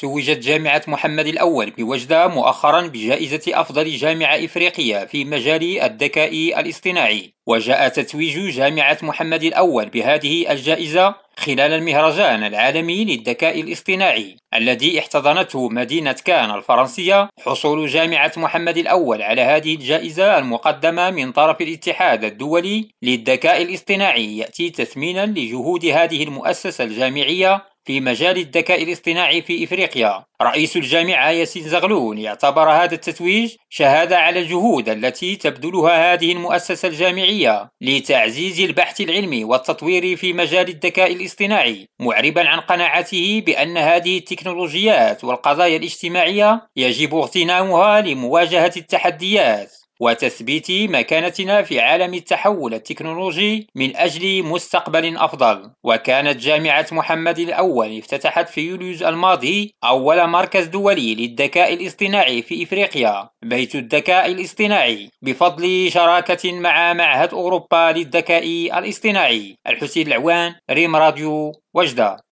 توجت جامعة محمد الأول بوجدة مؤخرا بجائزة أفضل جامعة إفريقية في مجال الذكاء الاصطناعي. وجاء تتويج جامعة محمد الأول بهذه الجائزة خلال المهرجان العالمي للذكاء الاصطناعي الذي احتضنته مدينة كان الفرنسية. حصول جامعة محمد الأول على هذه الجائزة المقدمة من طرف الاتحاد الدولي للذكاء الاصطناعي يأتي تثمينا لجهود هذه المؤسسة الجامعية في مجال الذكاء الاصطناعي في إفريقيا. رئيس الجامعة ياسين زغلول اعتبر هذا التتويج شهادة على الجهود التي تبذلها هذه المؤسسة الجامعية لتعزيز البحث العلمي والتطوير في مجال الذكاء الاصطناعي، معربا عن قناعته بأن هذه التكنولوجيات والقضايا الاجتماعية يجب اغتنامها لمواجهة التحديات وتثبيت مكانتنا في عالم التحول التكنولوجي من أجل مستقبل أفضل. وكانت جامعة محمد الأول افتتحت في يوليو الماضي أول مركز دولي للذكاء الاصطناعي في إفريقيا، بيت الذكاء الاصطناعي، بفضل شراكة مع معهد أوروبا للذكاء الاصطناعي. الحسين العوان، ريم راديو، وجدة.